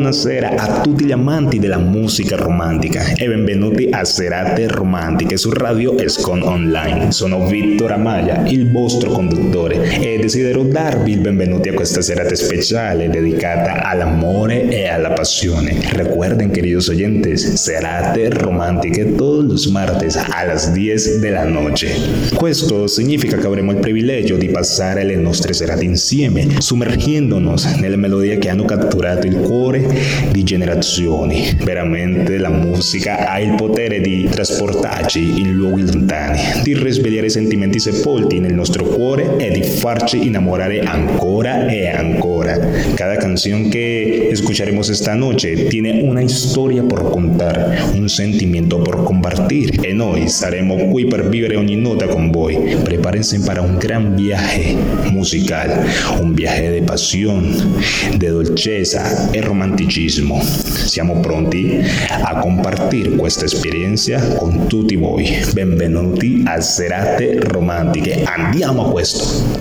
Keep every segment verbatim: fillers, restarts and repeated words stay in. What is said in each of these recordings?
buonasera a tutti gli amanti della musica romantica e benvenuti a Serate Romantiche su Radio Escon Online. Sono Victor Amaya, il vostro conduttore, e desidero darvi il benvenuti a questa serata speciale dedicata all'amore e alla pasione. Recuerden, queridos oyentes, Serate Romantiche todos los martes a las diez de la noche. Questo significa che avremo il privilegio di passare le nostre serate insieme, sommergendonos nelle melodie che hanno catturato il cuore di generazioni. Veramente la musica ha il potere di trasportarci in luoghi lontani, di risvegliare sentimenti sepolti nel nostro cuore e di farci innamorare ancora e ancora. Cada canción que escucharemos esta noche tiene una historia por contar, un sentimiento por compartir, e noi saremo qui per vivere ogni nota con voi. Prepárense para un gran viaje musical, un viaje de pasión, de dolcezza e romanticismo. Siamo pronti a compartir questa esperienza con tutti voi. Benvenuti a Serate Romantiche. Andiamo a questo!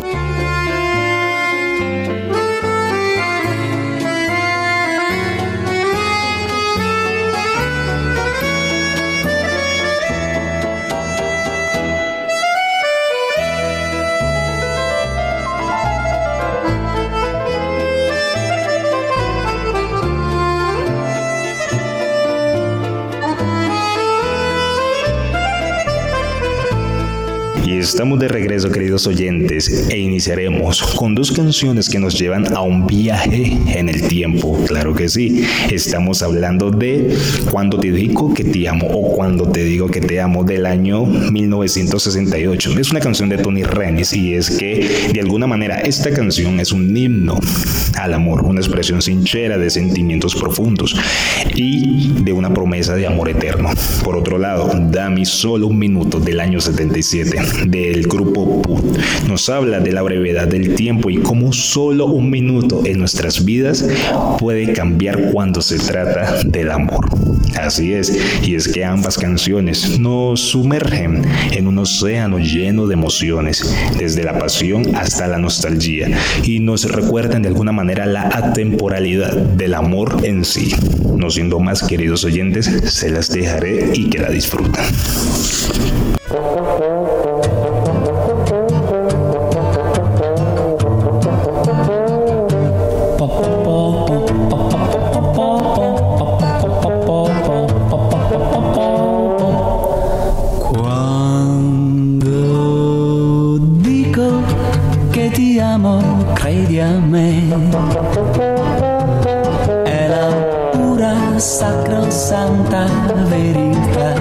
Estamos de regreso, queridos oyentes, e iniciaremos con dos canciones que nos llevan a un viaje en el tiempo. Claro que sí, estamos hablando de Cuando te digo que te amo o Cuando te digo que te amo del año mil novecientos sesenta y ocho. Es una canción de Tony Renis y es que de alguna manera esta canción es un himno al amor, una expresión sincera de sentimientos profundos y de una promesa de amor eterno. Por otro lado, Dame solo un minuto del año setenta y siete del grupo Put nos habla de la brevedad del tiempo y cómo solo un minuto en nuestras vidas puede cambiar cuando se trata del amor. Así es, y es que ambas canciones nos sumergen en un océano lleno de emociones, desde la pasión hasta la nostalgia, y nos recuerdan de alguna manera la atemporalidad del amor en sí. No siendo más, queridos oyentes, se las dejaré y que la disfruten. Credi a me, è la pura sacrosanta verità.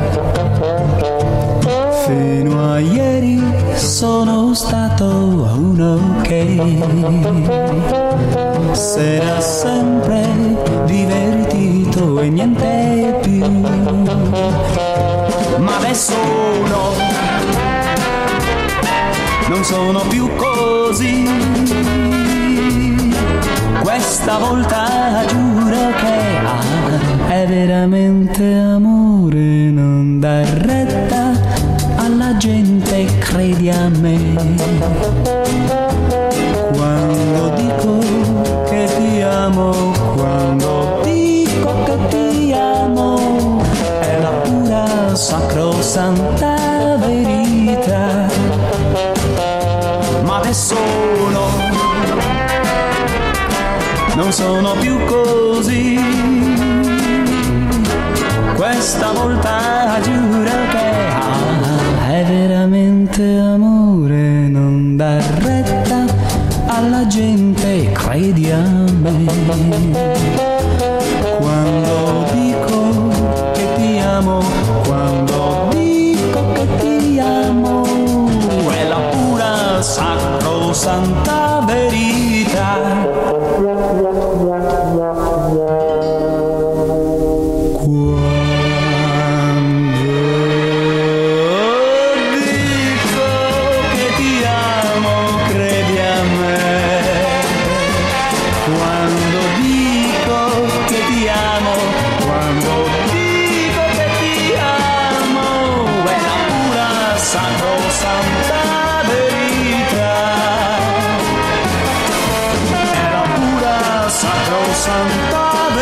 Fino a ieri sono stato uno che s'era sempre divertito e niente più, ma adesso no, non sono più così. Questa volta giuro che ah, è veramente amore, non dar retta alla gente, credi a me. Quando dico che ti amo, quando dico che ti amo, è la pura sacrosanta verità. Ma adesso no, non sono più così. Questa volta giuro che ah, è veramente amore, non dar retta alla gente, credi a me. Quando dico che ti amo, quando dico che ti amo, è la pura sacrosanta verità. Santa verità, è la pura sacrosanta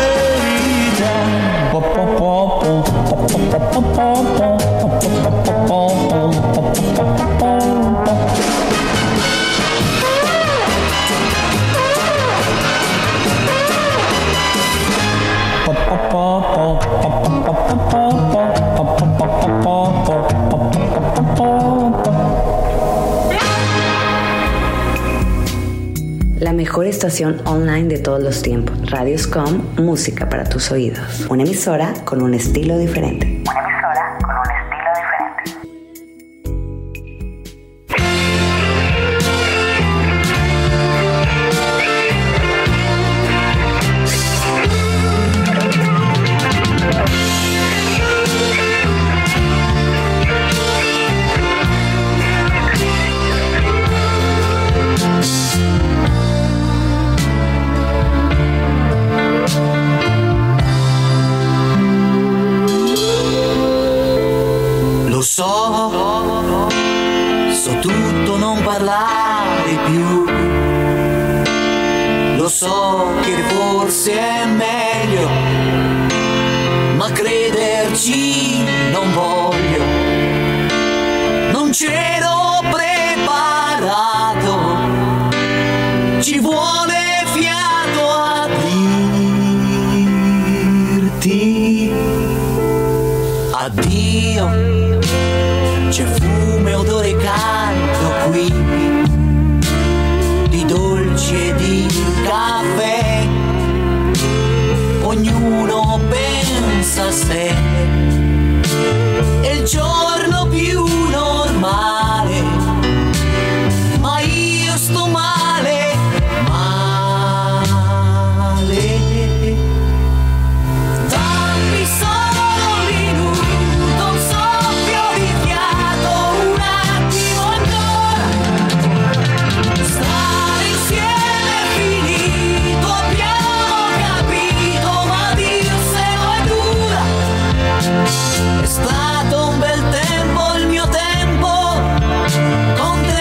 mejor estación online de todos los tiempos. Radio Scom, música para tus oídos. Una emisora con un estilo diferente. Una emisora con un estilo diferente. Lo so, so tutto, non parlare più. Lo so che forse è meglio, ma crederci non voglio. Non c'ero preparato, ci vuole fiato a dirti addio. C'è fumo e odore caldo qui, di dolci e di caffè. Ognuno pensa a sé, è il giorno più normale, ma io sto male, male. Dammi solo un minuto, un soffio di fiato, un attimo ancora. Stare insieme è finito, abbiamo capito, ma dirselo è dura. È stato un bel tempo il mio tempo con te.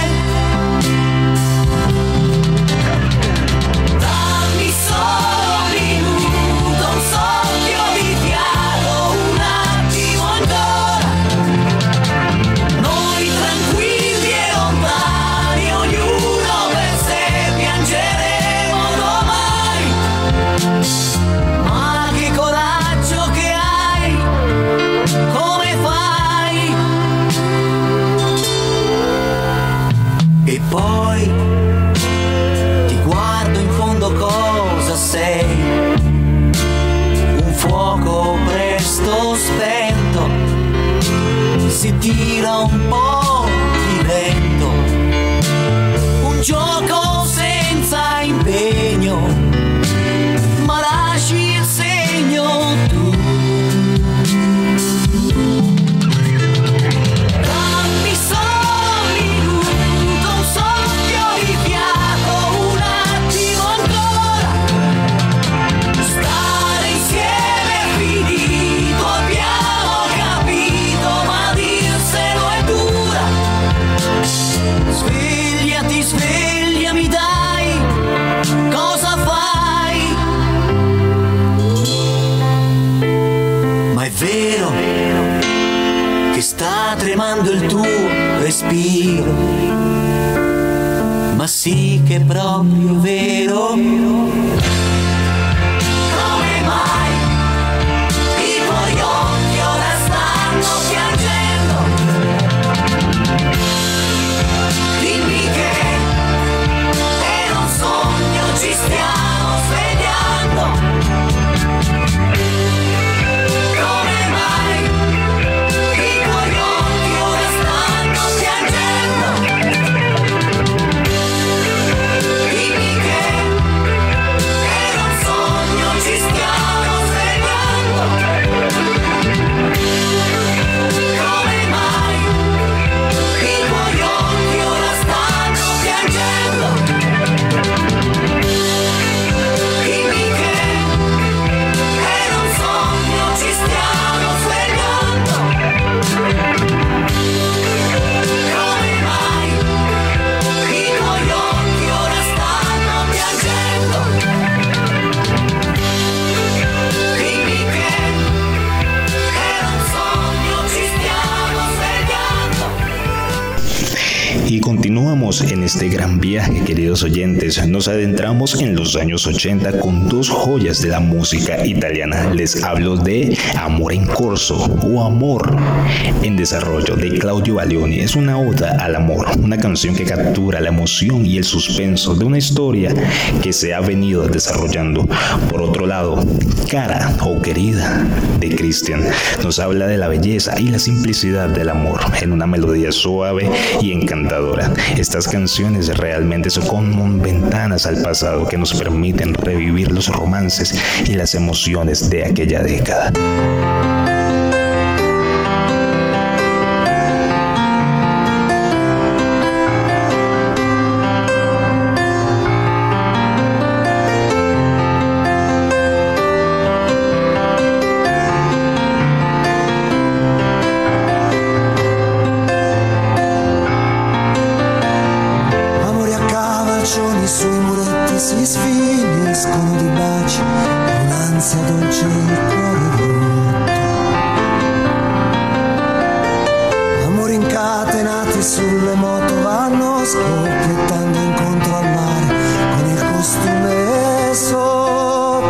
Dammi solo un minuto, un soffio di fiato, un attimo ancora. Noi tranquilli e lontani, ognuno per sé, piangeremo domani. Ma che coraggio che hai, come fai? E poi ti guardo in fondo, cosa sei? Un fuoco presto spento, si tira un po' di vento, un gioco senza impegno, ma lasci il segno tu. Dammi solo un minuto, un soffio di fiato, un attimo ancora. Stare insieme è finito, abbiamo capito, ma dirselo è dura. Svegliati, svegliami dai, cosa fai? Ma è vero che sta tremando il tuo respiro, ma sì che è proprio vero. Come mai i tuoi occhi ora stanno piangendo? Dimmi che era un sogno, ci stiamo svegliando. Come mai i tuoi occhi ora stanno piangendo? Dimmi che era un sogno, ci stiamo svegliando. continuamos en este gran viaje, queridos oyentes. Nos adentramos en los años ochenta con dos joyas de la música italiana. Les hablo de Amor in Corso o Amor en Desarrollo de Claudio Baglioni. Es una oda al amor, una canción que captura la emoción y el suspenso de una historia que se ha venido desarrollando. Por otro lado, Cara o Querida de Christian nos habla de la belleza y la simplicidad del amor en una melodía suave y encantadora. Estas canciones realmente son como ventanas al pasado que nos permiten revivir los romances y las emociones de aquella década. Sui muretti si sfiniscono di baci, un'ansia dolce il cuore rotto. Amori incatenati sulle moto vanno scoppiettando incontro al mare con il costume sotto.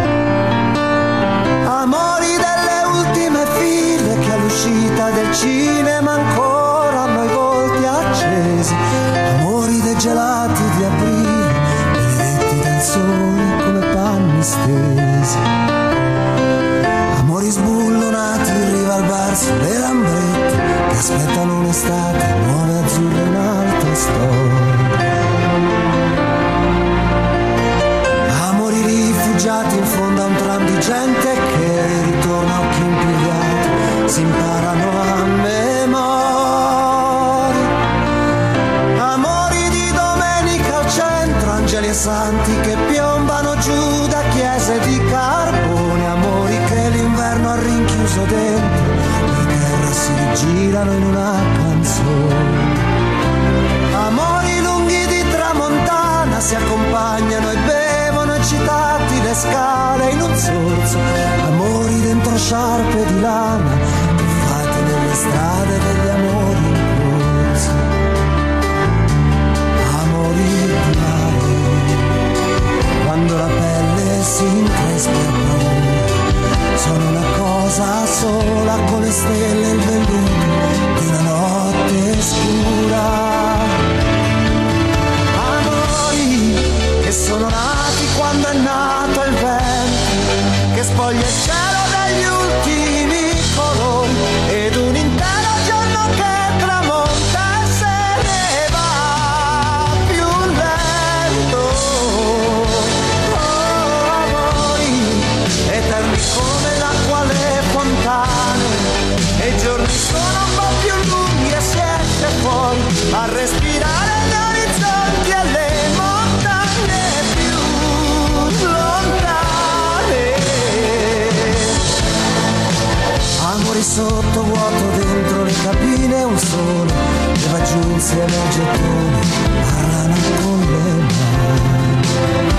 Amori delle ultime file che all'uscita del cinema ancora hanno i volti accesi. Amori dei gelati di aprile, benedetti dal sole come panni stesi. Amori sbullonati in riva al bar sulle lambrette che aspettano un'estate nuova e azzurra in un'altra storia. Amori rifugiati in fondo a un tram di gente che ritorna a occhi impigliati, si imparano a memoria. Angeli e santi che piombano giù da chiese di carbone, amori che l'inverno ha rinchiuso dentro, per terra si girano in una canzone. Amori lunghi di tramontana si accompagnano e bevono eccitati le scale in un sorso, amori dentro sciarpe di lana, tuffati nelle strade degli amori in corso. Amori di mare, quando la pelle si increspa e paura, sono una cosa sola con le stelle e il velluto di una notte scura. Amori che sono nati quando è nato il vento, che spoglia il cielo degli ultimi colori, ed un intero giorno che tramonta e se ne va più lento. Eterni come l'acqua alle fontane, e i giorni sono un po' più lunghi e si esce fuori a respirare gli orizzonti e le montagne più lontane. Amori sotto vuoto dentro le cabine, un sole che va giù insieme ai gettoni, parlano con le mani.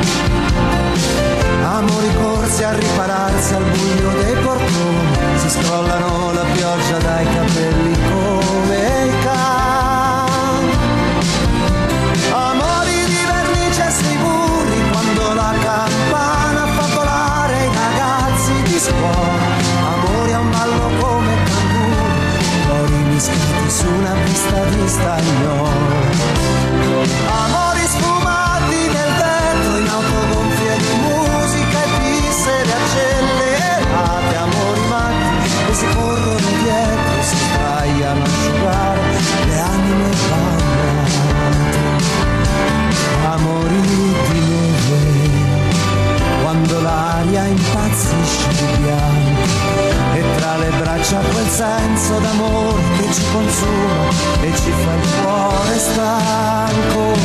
Amori corsi a ripararsi al buio dei portoni, si scrollano la pioggia dai capelli come i cani. Amori di vernice sui burri, quando la campana fa volare i ragazzi di scuola. Amori a un ballo come canguri, cori mischiati su una pista di stagnolo. Amori sfumati nel vetro in autogonfie di musica e piste accelerate, amori matti che si corrono dietro e si sbagliano a asciugare le anime bagnate. Amori di neve, quando l'aria impazzisce di bianco, e tra le braccia quel senso d'amore che ci consuma e ci fa il cuore stanco.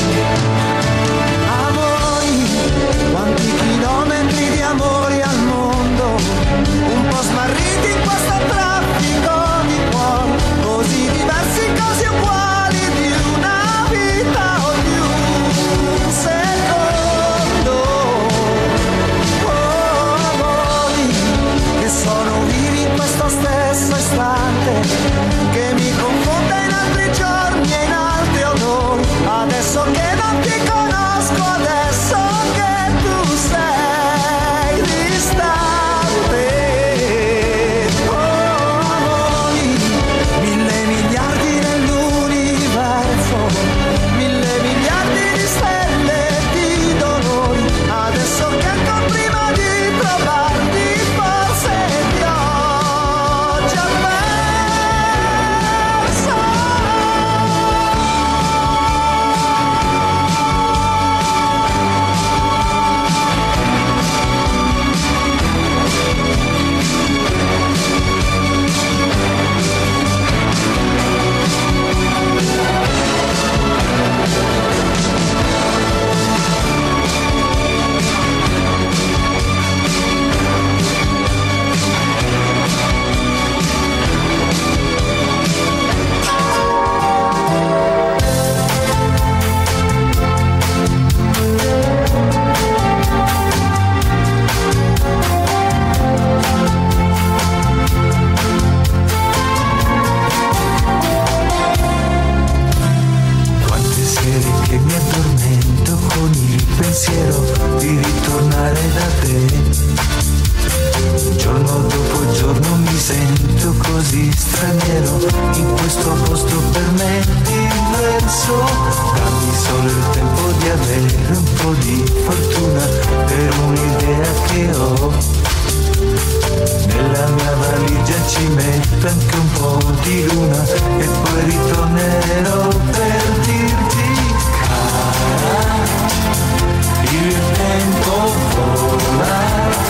Quanti chilometri di amori al mondo, un po' smarriti in questo traffico di cuori, così diversi, così uguali, di una vita o di un secondo. Oh, amori che sono vivi in questo stesso istante, che mi confonde in altri giorni e in altri odori, po' di fortuna per un'idea che ho. Nella mia valigia ci metto anche un po' di luna e poi ritornerò per dirti: cara, il tempo vola,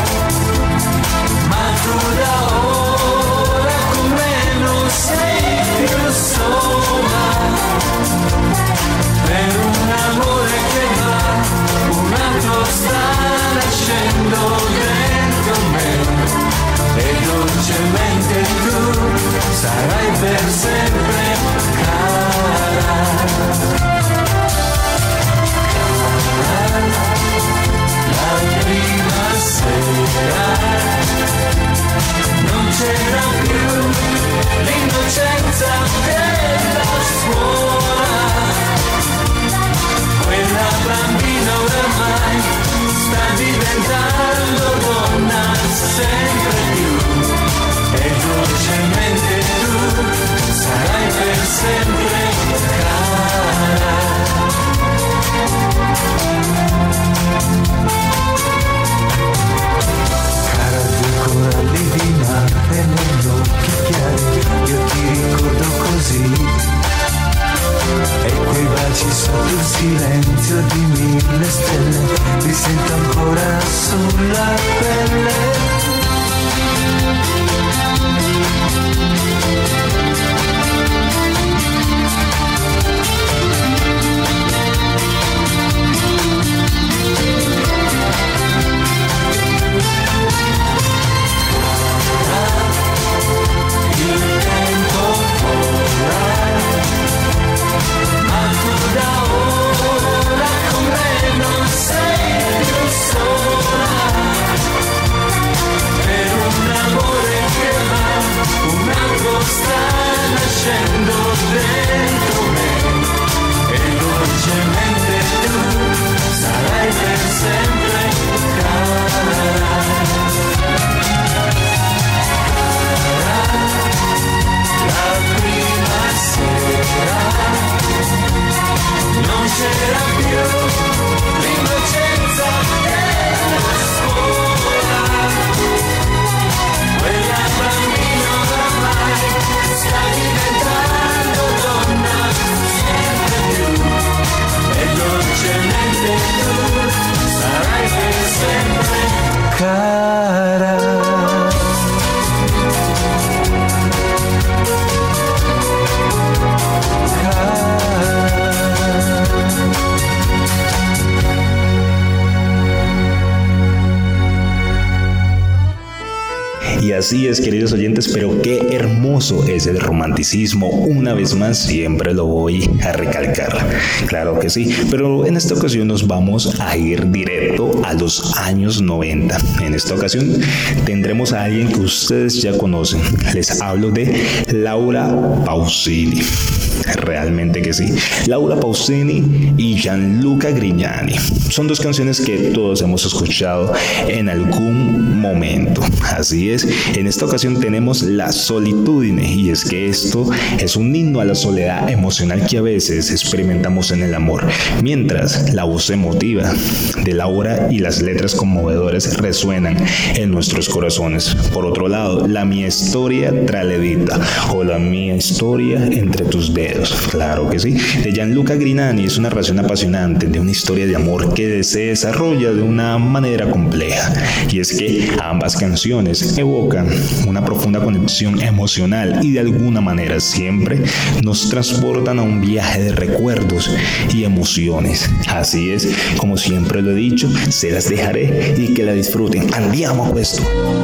ma tu da ora con me non sei più sola. Per un amore che va, un altro sta nascendo dentro me. E dolcemente tu sarai per sempre cara. Cara, la prima sera non c'era più l'innocenza della scuola. Quella bambina oramai sta diventando donna sempre più. E dolcemente tu sarai per sempre cara. Cara, due coralli di mare negli occhi chiari, io ti ricordo così. E quei baci sotto il silenzio di mille stelle li sento ancora sulla pelle. Il tempo vola, ma tu da ora con me non sei più sola. Per un amore che va, un altro sta nascendo dentro me. E dolcemente tu sarai per sempre cara. La prima sera non c'era più l'innocenza della scuola. Quella bambina oramai sta diventando donna sempre più. E dolcemente tu sarai per sempre cara. Y así es, queridos oyentes, pero qué hermoso es el romanticismo. Una vez más, siempre lo voy a recalcar. Claro que sí, pero en esta ocasión nos vamos a ir directo a los años noventa. En esta ocasión tendremos a alguien que ustedes ya conocen. Les hablo de Laura Pausini. Realmente que sí. Laura Pausini y Gianluca Grignani. Son dos canciones que todos hemos escuchado en algún momento. Así es. En esta ocasión tenemos La Solitudine, y es que esto es un himno a la soledad emocional que a veces experimentamos en el amor, mientras la voz emotiva de Laura y las letras conmovedoras resuenan en nuestros corazones. Por otro lado, La Mia Storia tra le dita, o La Mia Historia entre tus dedos, claro que sí, de Gianluca Grignani. Es una narración apasionante de una historia de amor que se desarrolla de una manera compleja, y es que ambas canciones evocan una profunda conexión emocional y de alguna manera siempre nos transportan a un viaje de recuerdos y emociones. Así es, como siempre lo he dicho, se las dejaré y que la disfruten. Andiamo a questo.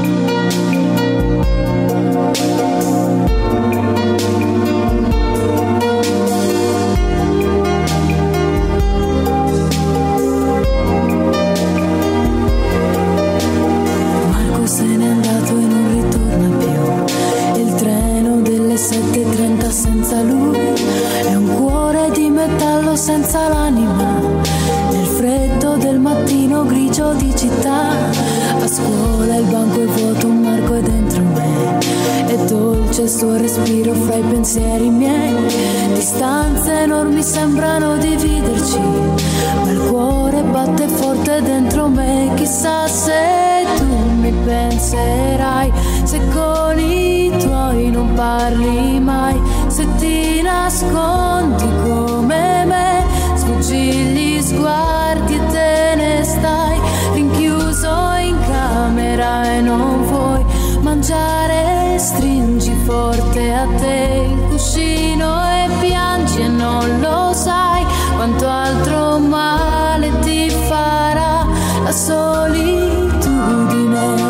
Senza l'anima, nel freddo del mattino grigio di città, a scuola il banco è vuoto, un marco è dentro me, è dolce il suo respiro fra i pensieri miei, distanze enormi sembrano dividerci, ma il cuore batte forte dentro me. Chissà se tu mi penserai, se con i tuoi non parli mai, se ti nascondi come me, sfuggi gli sguardi e te ne stai rinchiuso in camera e non vuoi mangiare, stringi forte a te il cuscino e piangi e non lo sai quanto altro male ti farà la solitudine.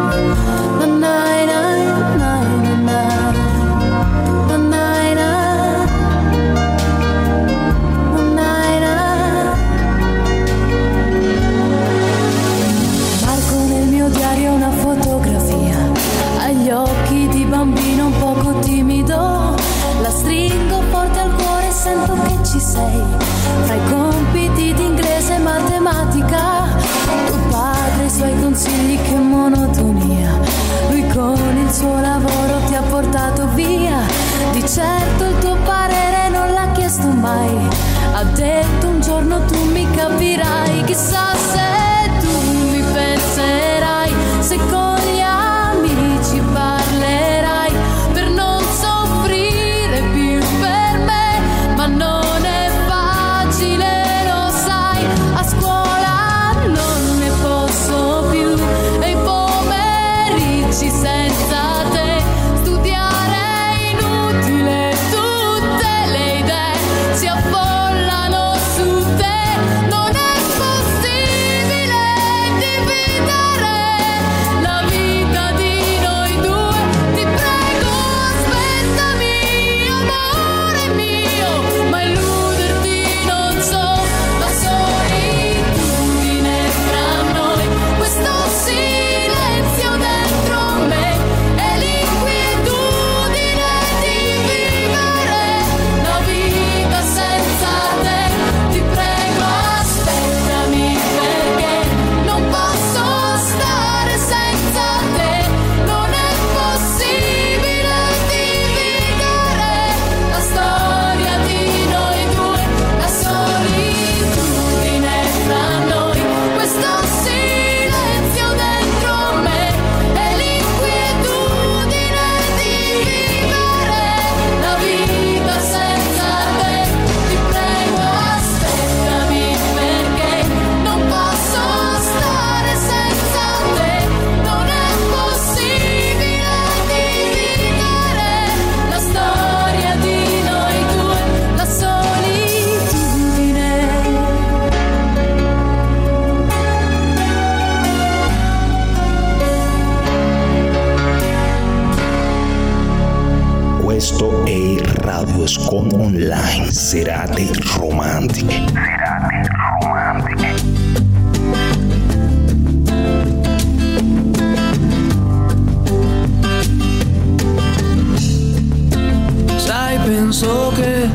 Occhi di bambino un poco timido, la stringo forte al cuore e sento che ci sei. Fra i compiti di inglese e matematica, tuo padre e i suoi consigli, che monotonia. Lui con il suo lavoro ti ha portato via, di certo il tuo parere non l'ha chiesto mai. Ha detto un giorno tu mi capirai, chissà se tu mi penserai, se con gli amici parlerai per non soffrire più per me, ma non è facile, lo sai, a scuola non ne posso più e i pomeriggi senza te studiare è inutile, tutte le idee si affollano su te, non è possibile dividere la vita di noi due, ti prego aspettami amore mio, ma illuderti non so, la solitudine fra noi, questo silenzio dentro me e l'inquietudine di vivere la vita senza te, ti prego aspettami perché non posso stare senza te, non è possibile dividere la storia di noi due, la solitudine fra noi, questo silenzio dentro me e l'inquietudine di vivere la vita senza te, ti prego aspettami perché non posso stare senza te, non è possibile dividere la storia di noi due, la solitudine. Questo è Radio Scon Online, serate romantiche. Serate romantiche. Sai, penso che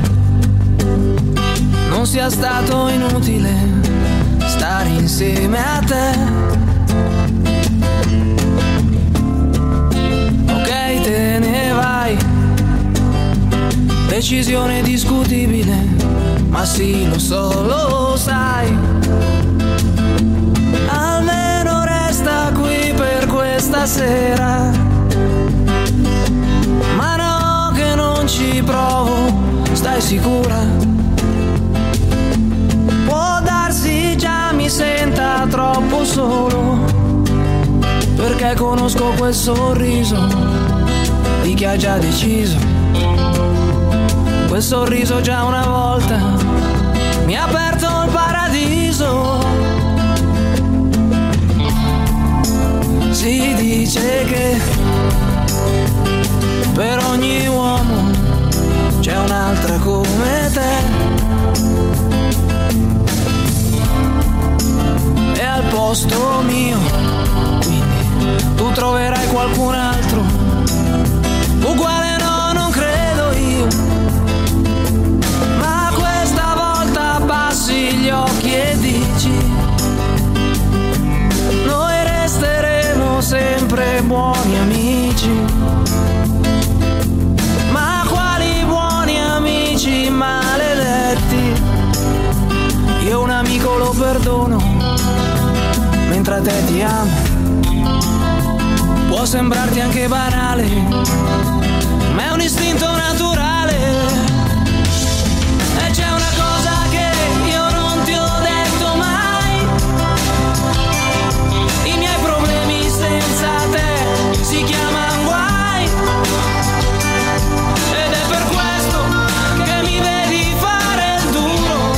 non sia stato inutile stare insieme a te. Ok, te ne vai, decisione discutibile, ma sì, lo so, lo sai. Almeno resta qui per questa sera, ma no che non ci provo, stai sicura? Può darsi già mi senta troppo solo, perché conosco quel sorriso di chi ha già deciso. Quel sorriso già una volta mi ha aperto il paradiso. Si dice che per ogni uomo c'è un'altra come te, e al posto mio quindi tu troverai qualcun altro uguale, no, non credo io, ma questa volta abbassi gli occhi e dici: noi resteremo sempre buoni amici. Ma quali buoni amici? perdono, mentre a te ti amo. Può sembrarti anche banale, ma è un istinto naturale. E c'è una cosa che io non ti ho detto mai: i miei problemi senza te si chiamano guai. Ed è per questo che mi vedi fare il duro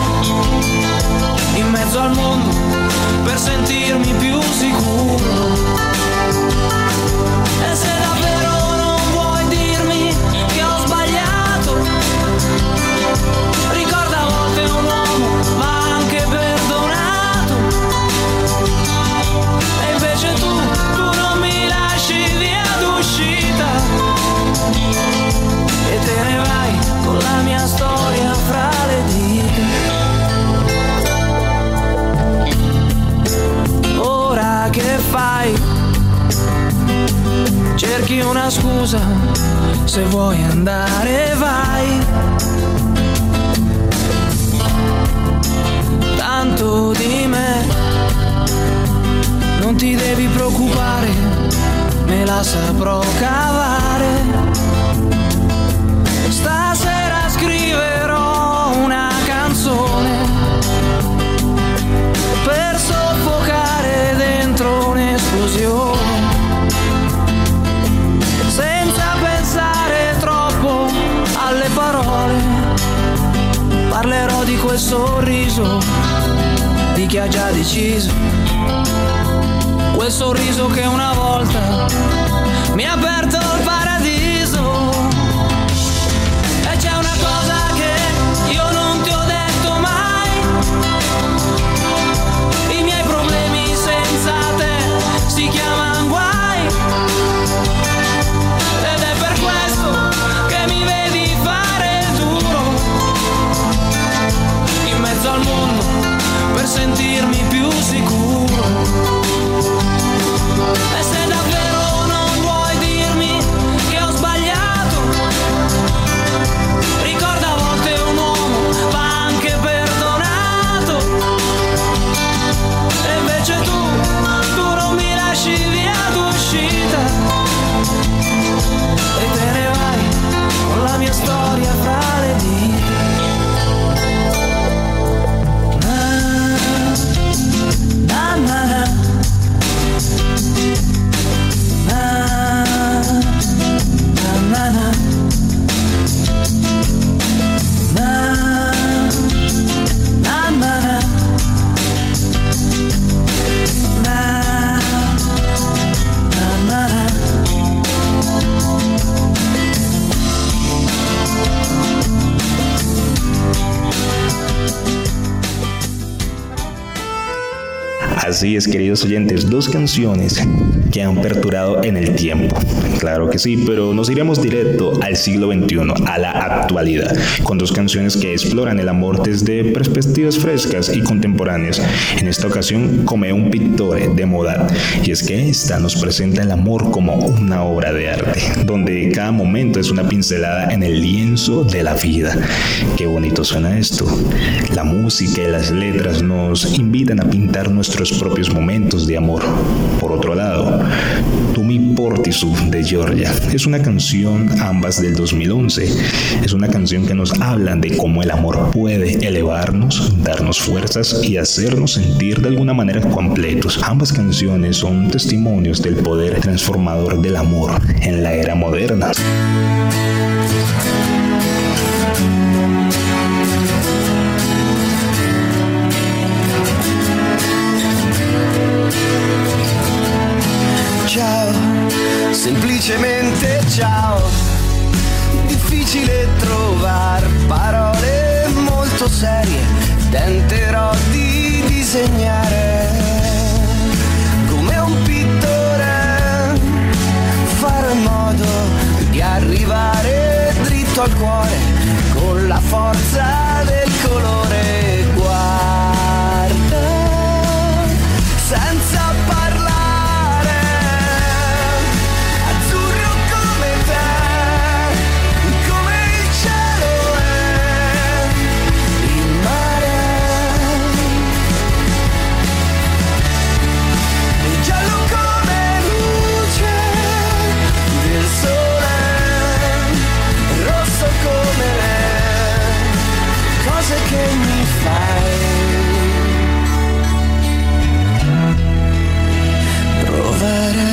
in mezzo al mondo per sentirmi più sicuro. E se davvero non vuoi dirmi che ho sbagliato, ricorda, a volte un uomo va anche perdonato. E invece tu, tu non mi lasci via d'uscita e te ne vai con la mia storia fra le dita. Ora che fai? Cerchi una scusa, se vuoi andare vai. Tanto di me non ti devi preoccupare, me la saprò cavare. Stasera scriverò una canzone per soffocare dentro un'esplosione, senza pensare troppo alle parole. Parlerò di quel sorriso di chi ha già deciso, quel sorriso che una volta mi ha aperto il paradiso. E c'è una cosa che io non ti ho detto mai: i miei problemi senza te si chiamano guai. Al mondo per sentirmi più sicuro. E se davvero non vuoi dirmi che ho sbagliato, ricorda, a volte un uomo va anche perdonato. E invece tu, tu non mi lasci via d'uscita e te ne vai con la mia storia fra le dita. Así es, queridos oyentes, dos canciones que han perdurado en el tiempo. Claro que sí, pero nos iremos directo al siglo veintiuno, a la actualidad, con dos canciones que exploran el amor desde perspectivas frescas y contemporáneas. En esta ocasión, Come un Pittore de Modà, y es que esta nos presenta el amor como una obra de arte, donde cada momento es una pincelada en el lienzo de la vida. Qué bonito suena esto. La música y las letras nos invitan a pintar nuestros propios momentos de amor. Por otro lado, Tu mi portisù de Giorgia es una canción, ambas del dos mil once. Es una canción que nos habla de cómo el amor puede elevarnos, darnos fuerzas y hacernos sentir de alguna manera completos. Ambas canciones son testimonios del poder transformador del amor en la era moderna. Ciao, semplicemente ciao. Difficile trovar parole molto serie, tenterò di disegnare come un pittore, fare in modo di arrivare dritto al cuore con la forza del colore. Guarda, senza parlare, cose che mi fai provare.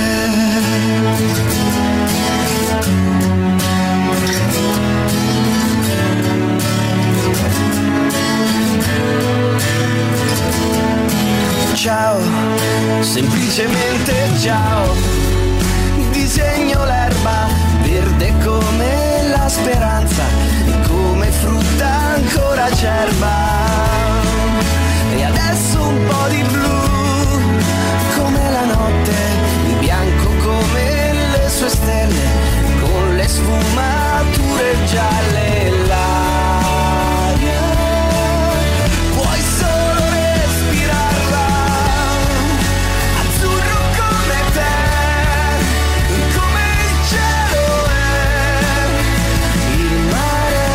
Ciao, semplicemente ciao. Disegno l'erba verde come la speranza, come frutta ancora acerba. E adesso un po' di blu come la notte, il bianco come le sue stelle, con le sfumature gialle. L'aria puoi solo respirarla, azzurro come te, come il cielo è il mare,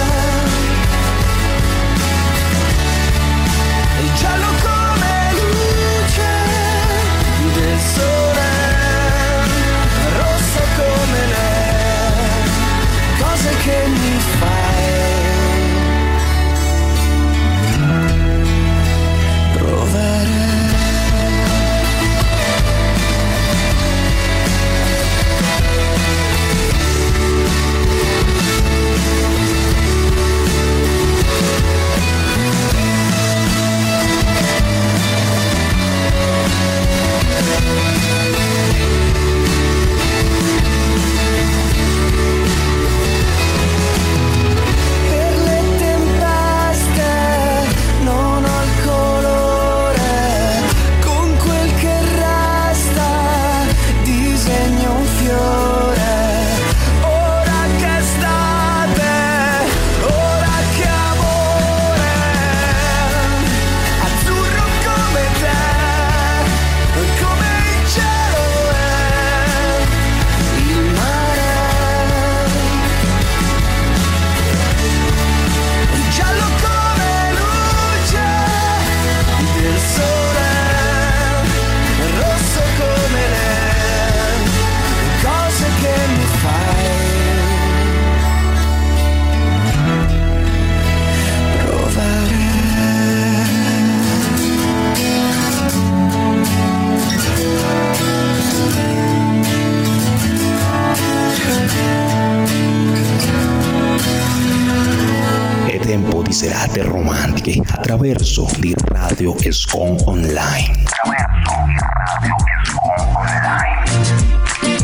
e giallo come luce del sole, rosso come le cose che mi fai provare. Per le tempeste non ho il colore, con quel che resta disegno un fiore. Ora che estate, ora che amore, azzurro come te, come il cielo è il mare, giallo come luce del sole, rosso come le cose che mi fai provare. È tempo di serate romantiche attraverso di Radio Escon Online. Attraverso di Radio Escon Online.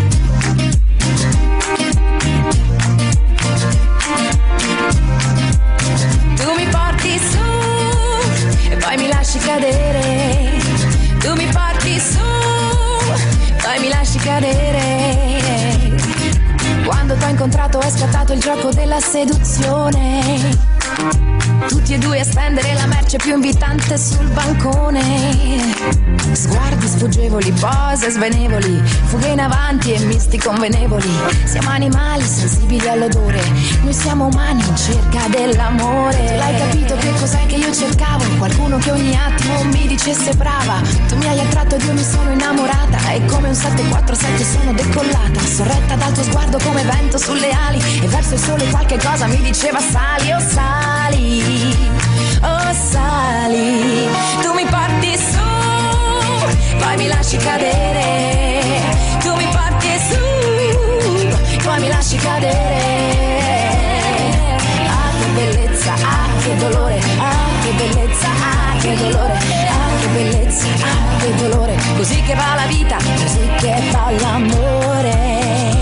Tu mi porti su e poi mi lasci cadere. Tu mi porti su, poi mi lasci cadere. Quando t'ho incontrato è scattato il gioco della seduzione. Tutti e due a spendere la merce più invitante sul bancone. Sguardi sfuggevoli, pose svenevoli, fughe in avanti e misti convenevoli. Siamo animali sensibili all'odore, noi siamo umani in cerca dell'amore. Tu l'hai capito che cos'è che io cercavo? Qualcuno che ogni attimo mi dicesse brava. Tu mi hai attratto ed io mi sono innamorata, e come un sette quattro sette sono decollata, sorretta dal tuo sguardo come vento sulle ali, e verso il sole qualche cosa mi diceva sali, oh sali, oh sali. Tu mi porti su, poi mi lasci cadere. Tu mi porti su, poi mi lasci cadere. Ah che bellezza, ah che dolore, ah che bellezza, ah che dolore, ah che bellezza, ah che dolore. Così che va la vita, così che va l'amore.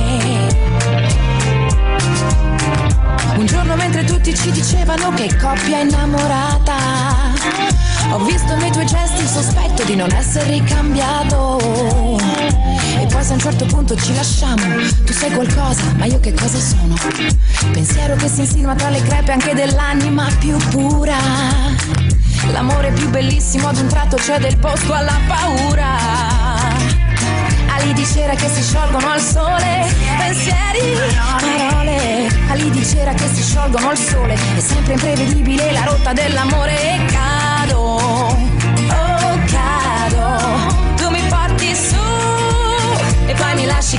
Un giorno mentre tutti ci dicevano che coppia innamorata, ho visto nei tuoi gesti il sospetto di non essere ricambiato. E poi se a un certo punto ci lasciamo, tu sei qualcosa, ma io che cosa sono? Pensiero che si insinua tra le crepe anche dell'anima più pura. L'amore più bellissimo ad un tratto cede il posto alla paura. Ali di cera che si sciolgono al sole, pensieri, parole. Ali di cera che si sciolgono al sole, è sempre imprevedibile la rotta dell'amore. E cado, oh cado. Tu mi porti su e poi mi lasci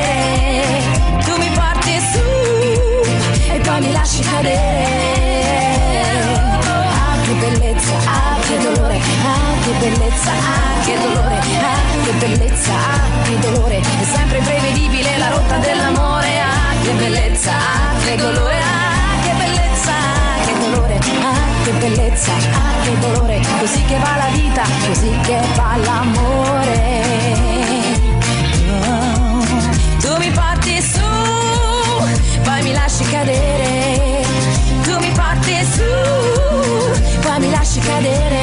cadere. Tu mi porti su e poi mi lasci cadere. bellezza, ah, che dolore, ah, che bellezza, ah, che dolore, è sempre prevedibile la rotta dell'amore, ah, che bellezza, ah, che dolore, ah, che bellezza, ah, che dolore, ah, che bellezza, ah, che dolore, così che va la vita, così che va l'amore. Oh, tu mi porti su, poi mi lasci cadere, tu mi porti su, poi mi lasci cadere,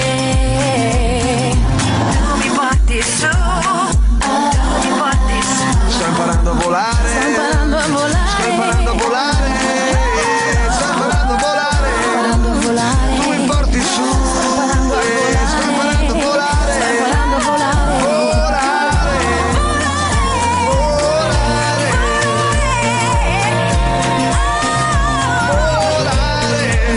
tu mi porti su, tu mi porti su. Sto imparando a volare, sto imparando a volare, sto imparando a volare, sto imparando a volare, imparando a volare, tu mi porti su, sto imparando a volare, sto imparando a volare, sto imparando a volare, volare, volare,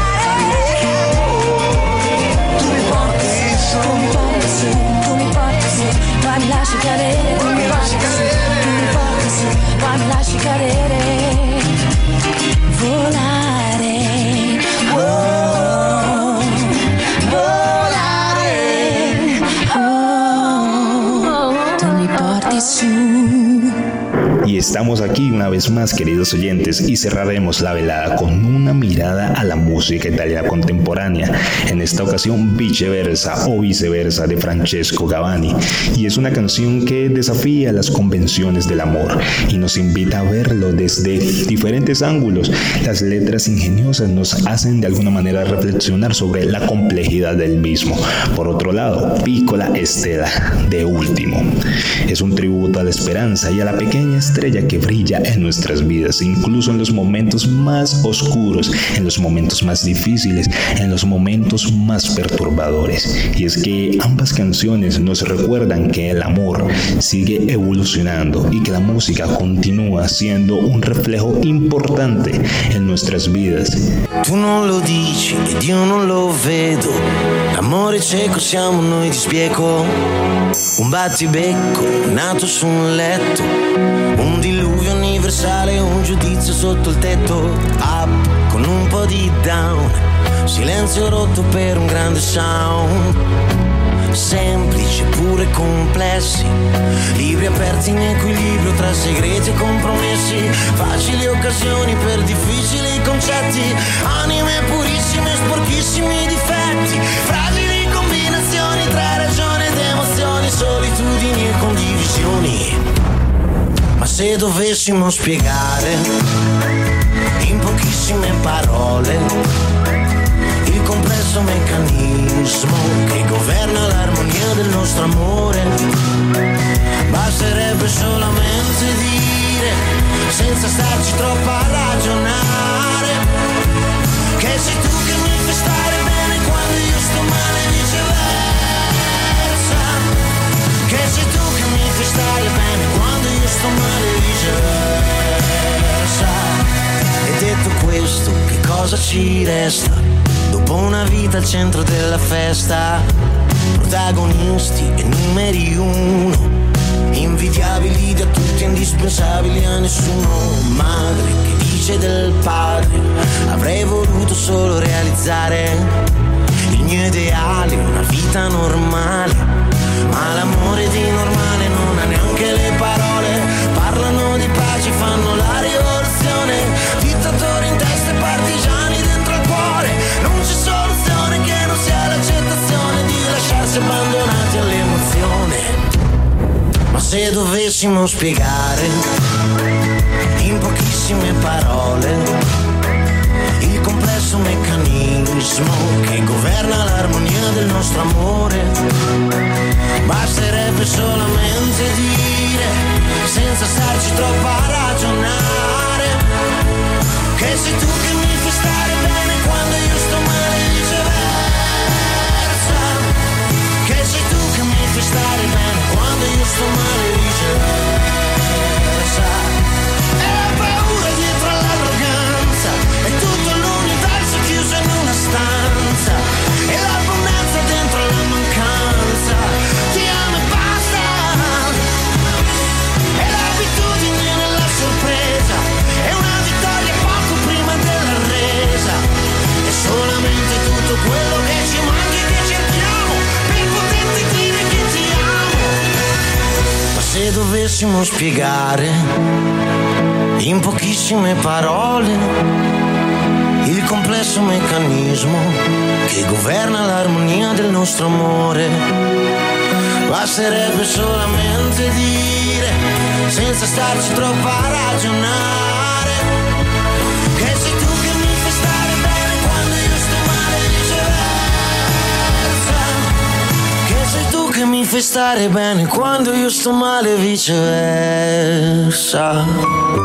volare, tu mi porti su, tu mi porti su, tu mi porti su, poi mi lasci cadere, tu mi porti su, tu mi porti su, poi mi lasci cadere, volare, oh, volare, oh, tu mi porti su. Y estamos aquí una vez más, queridos oyentes, y cerraremos la velada con una mirada a la música italiana contemporánea, en esta ocasión Viceversa o Viceversa de Francesco Gavani, y es una canción que desafía las convenciones del amor y nos invita a verlo desde diferentes ángulos. Las letras ingeniosas nos hacen de alguna manera reflexionar sobre la complejidad del mismo. Por otro lado, Piccola Stella, de Último, es un tributo a la esperanza y a la pequeña estrella que brilla en nuestras vidas, incluso en los momentos más oscuros, en los momentos más difíciles, en los momentos más perturbadores. Y es que ambas canciones nos recuerdan que el amor sigue evolucionando y que la música continúa siendo un reflejo importante en nuestras vidas. Tu non lo dici ed io non lo vedo, l'amore cieco siamo noi di spiego, un battibecco nato su un letto, un diluvio universale, un giudizio sotto il tetto, up con un po' di down, silenzio rotto per un grande sound, semplici pure complessi, libri aperti in equilibrio tra segreti e compromessi, facili occasioni per difficili concetti, anime purissime e sporchissimi difetti, fragili combinazioni tra ragione ed emozioni, solitudini e condivisioni. Ma se dovessimo spiegare in pochissime parole il complesso meccanismo che governa l'armonia del nostro amore, basterebbe solamente dire, senza starci troppo a ragionare, che sei tu che mi fai stare bene quando io sto male e viceversa, che sei tu che mi fai stare bene quando io sto male e viceversa. E detto questo, che cosa ci resta? Dopo una vita al centro della festa, protagonisti e numeri uno, invidiabili da tutti, indispensabili a nessuno, madre che dice del padre, avrei voluto solo realizzare il mio ideale, una vita normale, ma l'amore di normale non ha neanche le parole, parlano di pace, fanno la rivoluzione, dittatori in testa e partigiani dentro il cuore, non c'è soluzione che non sia l'accettazione di lasciarsi abbandonati all'emozione. Ma se dovessimo spiegare in pochissime parole il complesso meccanismo che governa l'armonia del nostro amore, basterebbe solamente dire, senza starci troppo a ragionare, che sei tu che mi fai stare bene quando io sto male e viceversa, che sei tu che mi fai stare bene quando io sto male e viceversa. E la paura dietro all'arroganza dovessimo spiegare in pochissime parole il complesso meccanismo che governa l'armonia del nostro amore, basterebbe solamente dire, senza starci troppo a ragionare, che sei tu che mi fai stare bene quando io sto male, viceversa. Che sei tu che mi fai stare bene quando io sto male, viceversa.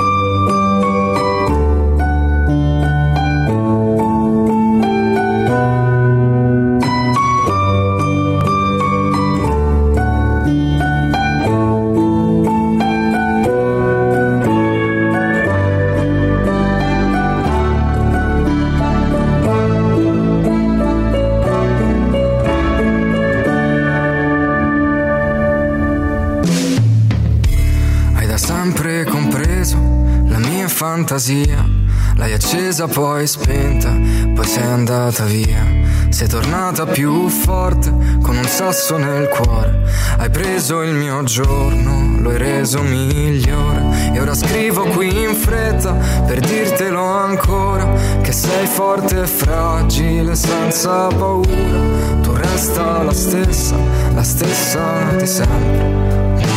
Fantasia, l'hai accesa poi spenta, poi sei andata via. Sei tornata più forte, con un sasso nel cuore. Hai preso il mio giorno, lo hai reso migliore. E ora scrivo qui in fretta, per dirtelo ancora, che sei forte e fragile, senza paura. Tu resta la stessa, la stessa di sempre.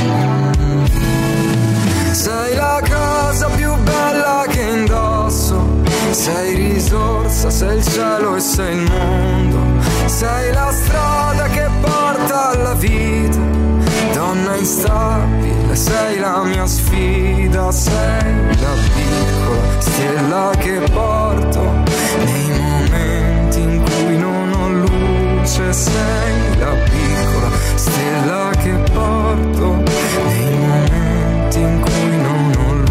Sei la cosa più bella che indosso, sei risorsa, sei il cielo e sei il mondo, sei la strada che porta alla vita, donna instabile, sei la mia sfida, sei la piccola stella che porto nei momenti in cui non ho luce, sei la piccola stella che porto nei momenti in cui non ho luce.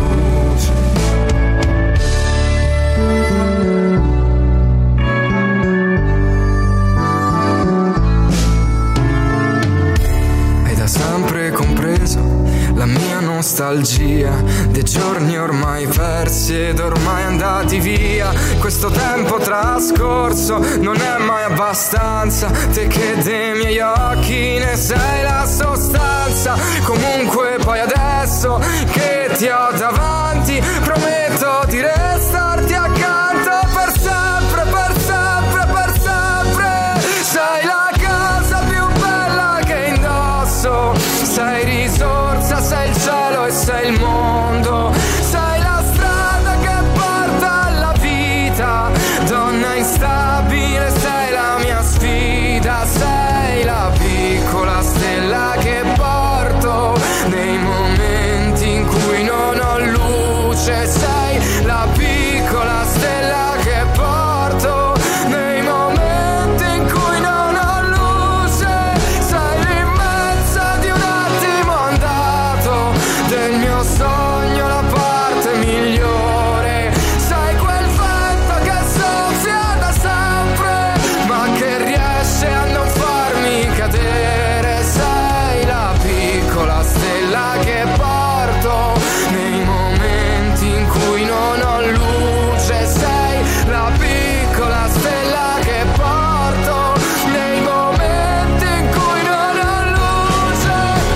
Hai da sempre compreso la mia nostalgia dei giorni ormai persi ed ormai andati via. Questo tempo trascorso non è mai abbastanza, te che dei miei occhi ne sei la sostanza. Comunque poi adesso che ti ho davanti prometto di restarti accanto per sempre, per sempre, per sempre. Sei la cosa più bella che indosso, sei risorsa, sei il cielo e sei il mondo, sei la strada che porta alla vita, donna instabile, sei la mia sfida, sei la piccola stella che porto nei momenti in cui non ho luce, sei la piccola stella che porto nei momenti in cui non ho luce, sei l'immensa di un attimo andato del mio sogno, la parte migliore, sei quel vento che soffia da sempre ma che riesce a non farmi cadere, sei la piccola stella che porto nei momenti in cui non ho luce, sei la piccola stella che porto nei momenti in cui non ho luce.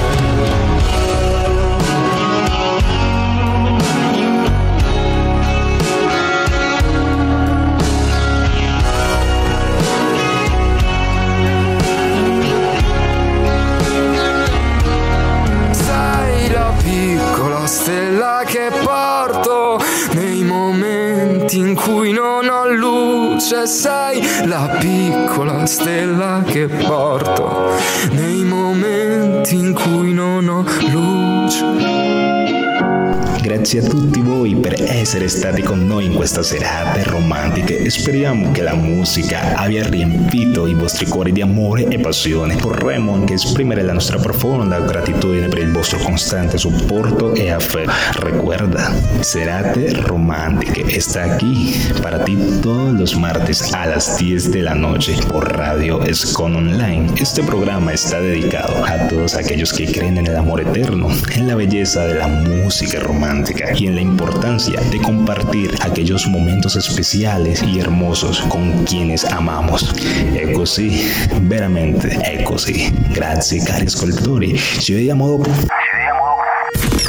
Sei la piccola stella che porto nei momenti in cui non ho luce, sei la piccola stella che porto nei momenti in cui non ho luce. Grazie a tutti voi per essere stati con noi in questa serate romantiche e speriamo che la musica abbia riempito i vostri cuori di amore e passione. Vorremmo anche esprimere la nostra profonda gratitudine per il vostro costante supporto e affetto. Recuerda, Serate Romántica está aquí para ti todos los martes a las diez de la noche por Radio Escon Online. Este programa está dedicado a todos aquellos que creen en el amor eterno, en la belleza de la música romántica y en la importancia de compartir aquellos momentos especiales y hermosos con quienes amamos. È così, veramente è così. Grazie cari ascoltatori. Ci vediamo dopo. Ci vediamo dopo.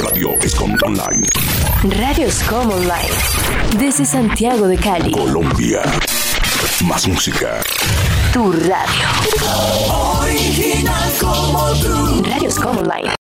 Radio Escom Online. Radio Escom Online. Desde Santiago de Cali, Colombia. Más música. Tu radio. Original como tú. Radio Escom Online.